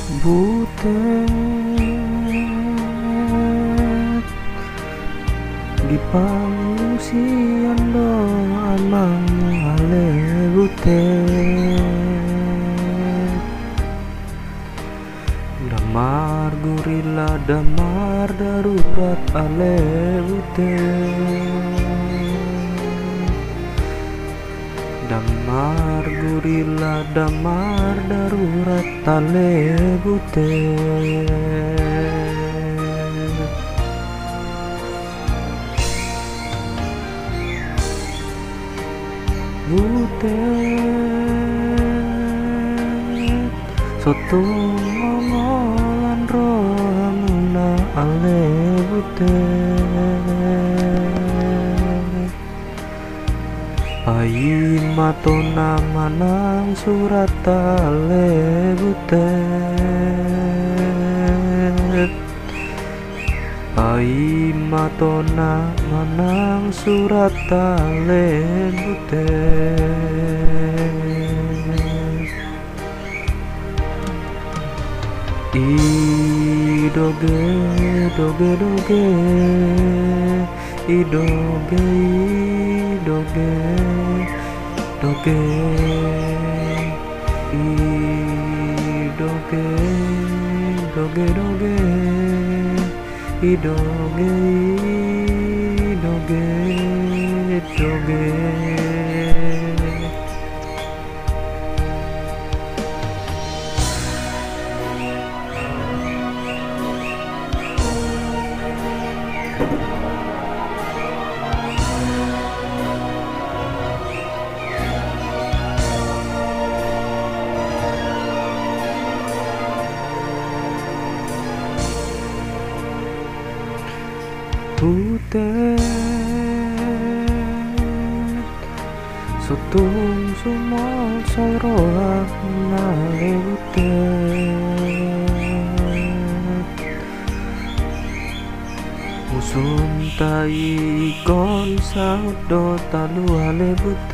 Butet di pangungsian doan mangale butet damar gurila damar darurat ale butet damar gurila damar darurat ale butet butet sotung ngomolan rohamuna ale butet ayin matona manang surat ale butet ayin matona manang surat ale butet idoge doge doge idoge idoge doge idoge doge doge idoge idoge doge butet sotung sumol soroak nale butet musun tai kon saut do talu ale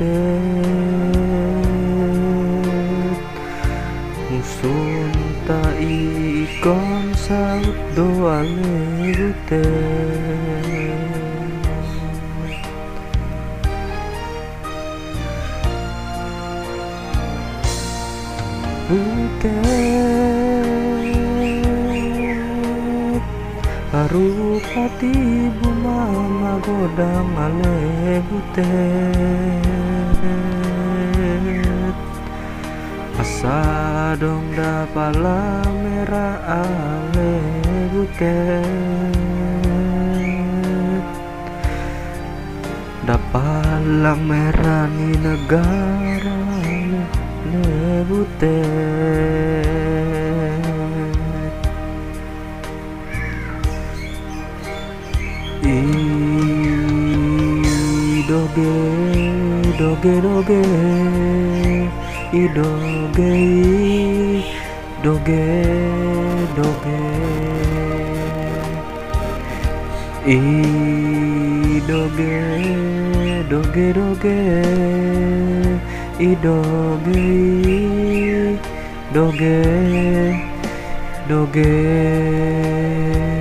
butet musun tai kon saut do ale butet butet harupati bumama godang ale butet asa dong dapala merah ale butet dapala merah ni negara ale butet idoge doge doge idoge doge doge idoge doge doge idoge doge doge